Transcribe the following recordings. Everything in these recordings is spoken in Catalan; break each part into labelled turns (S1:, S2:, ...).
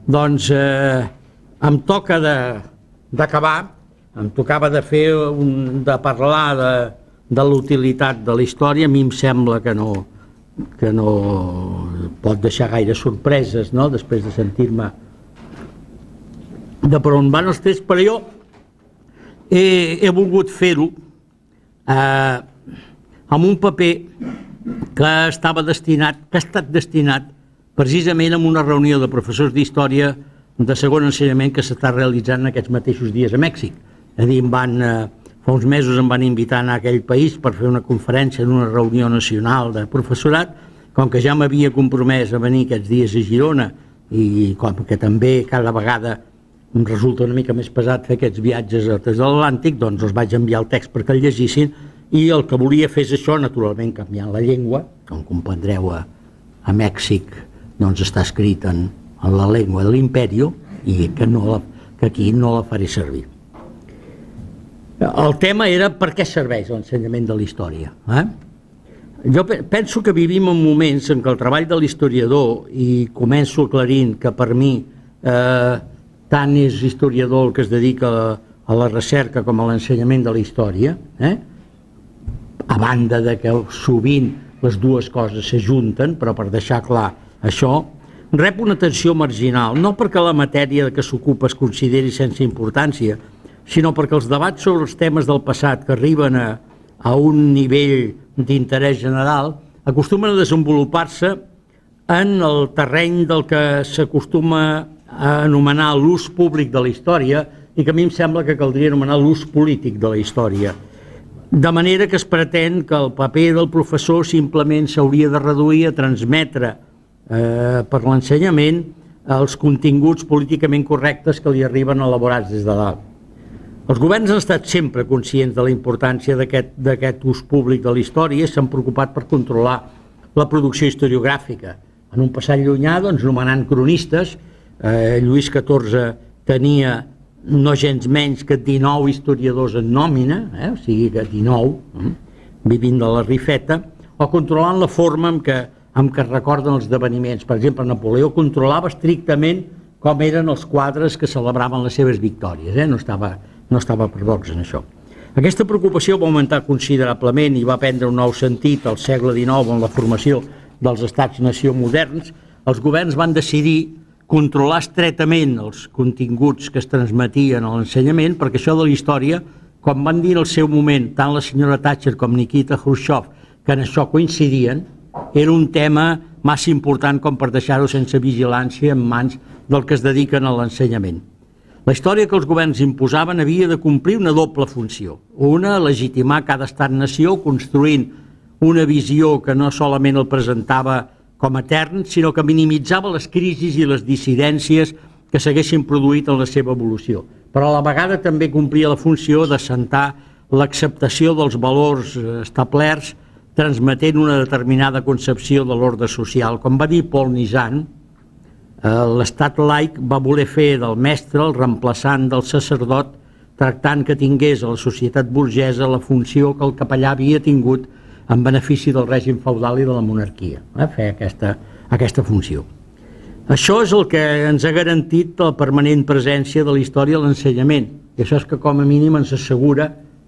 S1: Doncs em toca d'acabar, em tocava de parlar de la utilitat de la història. A mi em sembla que no pot deixar gaire sorpreses, no?, després de sentir-me de per on van els trets, però jo he volgut fer-ho amb un paper que ha estat destinat precisament a una reunió de professors d'història de segon ensenyament que s'està realitzant en aquests mateixos dies a Mèxic. És a dir, fa uns mesos em van invitar a anar a aquell país per fer una conferència en una reunió nacional de professorat. Com que ja m'havia compromès a venir aquests dies a Girona i com que també cada vegada em resulta una mica més pesat fer aquests viatges des de l'Atlàntic, doncs els vaig enviar el text perquè el llegissin, i el que volia fer és això, naturalment canviant la llengua. Com comprendreu, a Mèxic doncs està escrit en la llengua de l'Imperio i que aquí no la faré servir. El tema era per què serveix l'ensenyament de la història. Jo penso que vivim en moments en què el treball de l'historiador, i començo aclarint que per mi tant és historiador el que es dedica a la recerca com a l'ensenyament de la història, a banda de que sovint les dues coses s'ajunten, però per deixar clar això, rep una atenció marginal, no perquè la matèria de què s'ocupa es consideri sense importància, sinó perquè els debats sobre els temes del passat que arriben a un nivell d'interès general acostumen a desenvolupar-se en el terreny del que s'acostuma a anomenar l'ús públic de la història i que a mi em sembla que caldria anomenar l'ús polític de la història. De manera que es pretén que el paper del professor simplement s'hauria de reduir a transmetre per l'ensenyament els continguts políticament correctes que li arriben elaborats des de dalt. Els governs han estat sempre conscients de la importància d'aquest ús públic de la història i s'han preocupat per controlar la producció historiogràfica. En un passat llunyà, nomenant cronistes, Lluís XIV tenia no gens menys que 19 historiadors en nòmina, o sigui que 19, vivint de la rifeta, o controlant la forma amb què recorden els esdeveniments. Per exemple, Napoleó controlava estrictament com eren els quadres que celebraven les seves victòries, no estava per bocs en això. Aquesta preocupació va augmentar considerablement i va prendre un nou sentit al segle XIX en la formació dels estats-nació moderns. Els governs van decidir controlar estretament els continguts que es transmetien a l'ensenyament, perquè això de la història, com van dir en el seu moment tant la senyora Thatcher com Nikita Khrushchev, que en això coincidien, era un tema massa important com per deixar-ho sense vigilància en mans del que es dediquen a l'ensenyament. La història que els governs imposaven havia de complir una doble funció. Una, legitimar cada estat-nació construint una visió que no solament el presentava com a etern, sinó que minimitzava les crisis i les dissidències que s'haguessin produït en la seva evolució. Però a la vegada també complia la funció d'assentar l'acceptació dels valors establerts, transmetent una determinada concepció de l'ordre social. Com va dir Paul Nizan, l'estat laic va voler fer del mestre el reemplaçant del sacerdot, tractant que tingués a la societat burgesa la funció que el capellà havia tingut en benefici del règim feudal i de la monarquia, fer aquesta funció. Això és el que ens ha garantit la permanent presència de la història a l'ensenyament, i això és que com a mínim ens assegura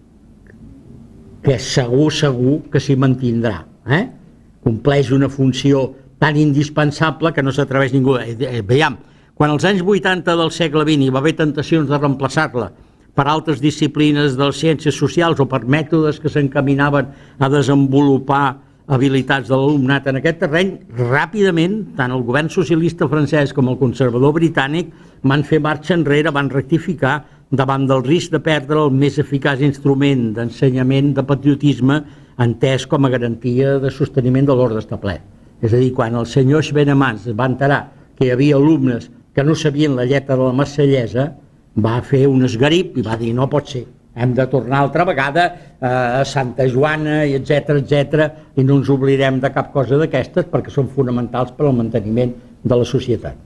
S1: que segur que s'hi mantindrà. Compleix una funció tan indispensable que no s'atreveix ningú. Veiem, quan als anys 80 del segle XX hi va haver tentacions de reemplaçar-la per altres disciplines de les ciències socials o per mètodes que s'encaminaven a desenvolupar habilitats de l'alumnat en aquest terreny, ràpidament, tant el govern socialista francès com el conservador britànic van fer marxa enrere, van rectificar davant del risc de perdre el més eficaç instrument d'ensenyament de patriotisme entès com a garantia de sosteniment de l'ordre establert. És a dir, quan el senyor Schwenemans es va enterar que hi havia alumnes que no sabien la lletra de la Marsellesa, va fer un esgarip i va dir no pot ser, hem de tornar altra vegada a Santa Joana i etcètera, i no ens oblidem de cap cosa d'aquestes perquè són fonamentals per al manteniment de la societat.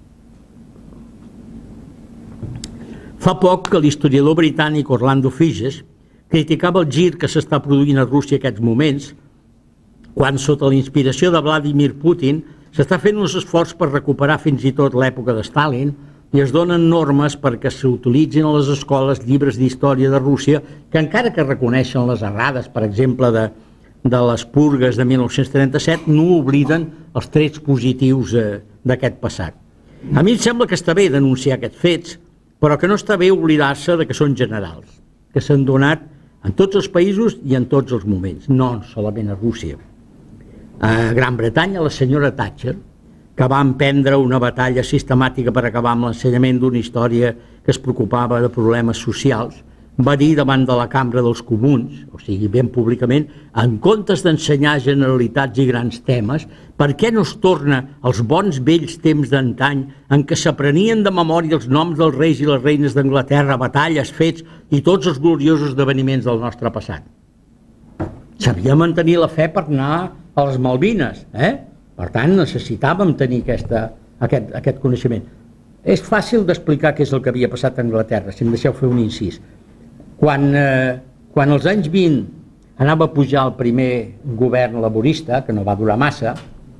S1: Fa poc que l'historiador britànic Orlando Figes criticava el gir que s'està produint a Rússia en aquests moments, quan sota la inspiració de Vladimir Putin s'està fent un esforç per recuperar fins i tot l'època de Stalin, i es donen normes perquè s'utilitzin a les escoles llibres d'història de Rússia que encara que reconeixen les errades, per exemple, de les purgues de 1937, no obliden els trets positius d'aquest passat. A mi em sembla que està bé denunciar aquests fets, però que no està bé oblidar-se de que són generals, que s'han donat en tots els països i en tots els moments, no solament a Rússia. A Gran Bretanya, la senyora Thatcher, que va emprendre una batalla sistemàtica per acabar amb l'ensenyament d'una història que es preocupava de problemes socials, va dir davant de la Cambra dels Comuns, o sigui, ben públicament, en comptes d'ensenyar generalitats i grans temes, per què no es torna als bons vells temps d'antany en què s'aprenien de memòria els noms dels reis i les reines d'Anglaterra, batalles, fets i tots els gloriosos esdeveniments del nostre passat? S'havia de mantenir la fe per anar a les Malvines, Per tant, necessitàvem tenir aquest coneixement. És fàcil d'explicar què és el que havia passat a Anglaterra, si em deixeu fer un incís. Quan als anys 20 anava a pujar el primer govern laborista, que no va durar massa,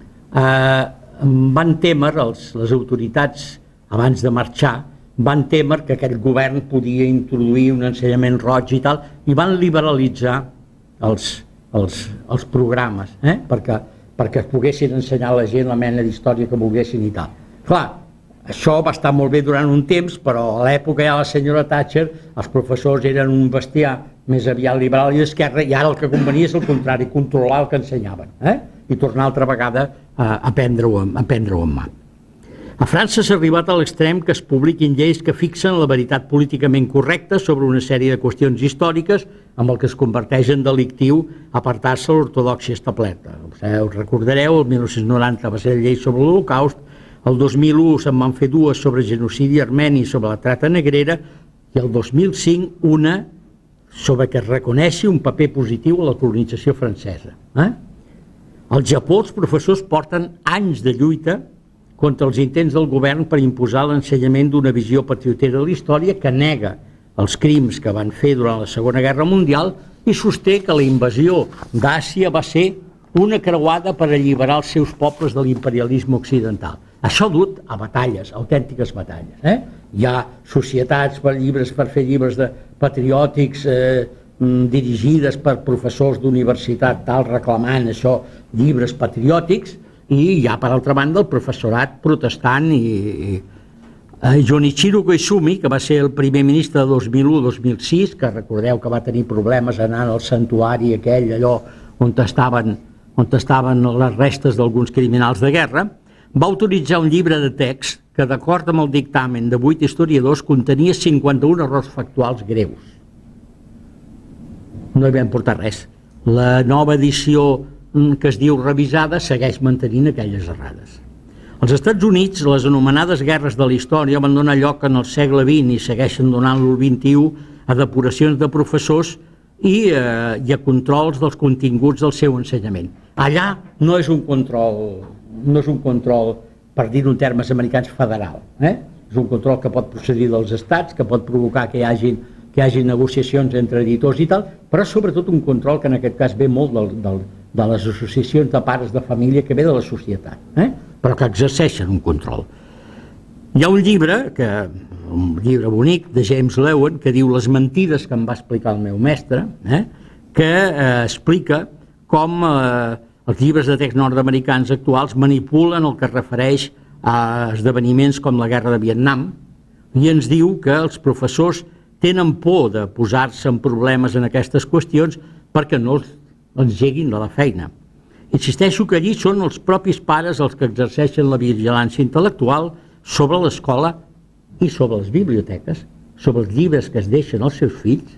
S1: van témer, les autoritats, abans de marxar, van témer que aquest govern podia introduir un ensenyament roig i tal, i van liberalitzar els programes, perquè es poguessin ensenyar a la gent la mena d'història que volguessin i tal. Clar, això va estar molt bé durant un temps, però a l'època ja la senyora Thatcher, els professors eren un bestiar més aviat liberal i d'esquerra, i ara el que convenia és el contrari, controlar el que ensenyaven, i tornar altra vegada a prendre-ho en mà. A França s'ha arribat a l'extrem que es publiquin lleis que fixen la veritat políticament correcta sobre una sèrie de qüestions històriques amb el que es converteix en delictiu apartar-se a l'ortodòxia establerta. Us recordareu, el 1990 va ser la llei sobre l'Holocaust, el 2001 se'n van fer dues sobre genocidi armeni i sobre la trata negrera, i el 2005 una sobre que es reconeixi un paper positiu a la colonització francesa. Al Japó els professors porten anys de lluita contra els intents del govern per imposar l'ensenyament d'una visió patriotera de la història que nega els crims que van fer durant la Segona Guerra Mundial i sosté que la invasió d'Àsia va ser una creuada per alliberar els seus pobles de l'imperialisme occidental. Això ha dut a batalles, autèntiques batalles. Hi ha societats per fer llibres patriòtics dirigides per professors d'universitat tal reclamant això, llibres patriòtics, i hi ha, per altra banda, el professorat protestant i Junichiro Koizumi, que va ser el primer ministre de 2001-2006, que recordeu que va tenir problemes anant al santuari aquell, allò on estaven les restes d'alguns criminals de guerra, va autoritzar un llibre de text que, d'acord amb el dictamen de 8 historiadors, contenia 51 errors factuals greus. No hi vam portar res. La nova edició que es diu revisada segueix mantenint aquelles errades. Als Estats Units, les anomenades guerres de la història van donar lloc en el segle XX i segueixen donant-lo al XXI a depuracions de professors i a controls dels continguts del seu ensenyament. Allà no és un control, per dir-ho en termes americans, federal. És un control que pot procedir dels estats, que pot provocar que hi hagi negociacions entre editors i tal, però sobretot un control que en aquest cas ve molt de les associacions de pares de família, que ve de la societat, però que exerceixen un control. Hi ha un llibre bonic de James Loewen que diu Les mentides que em va explicar el meu mestre, que explica com els llibres de text nord-americans actuals manipulen el que es refereix a esdeveniments com la guerra de Vietnam i ens diu que els professors tenen por de posar-se en problemes en aquestes qüestions perquè no els engeguin de la feina. Insisteixo que allí són els propis pares els que exerceixen la vigilància intel·lectual sobre l'escola i sobre les biblioteques, sobre els llibres que es deixen als seus fills.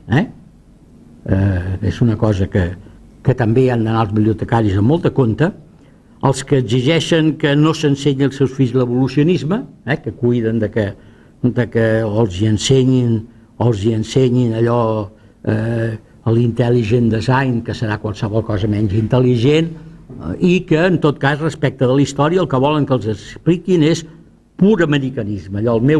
S1: És una cosa que també han d'anar els bibliotecaris amb molt de compte, els que exigeixen que no s'ensenyi als seus fills l'evolucionisme, que cuiden de que els hi ensenyin allò l'intelligent design, que serà qualsevol cosa menys intel·ligent, i que, en tot cas, respecte de la història, el que volen que els expliquin és pur americanisme. Allò, el meu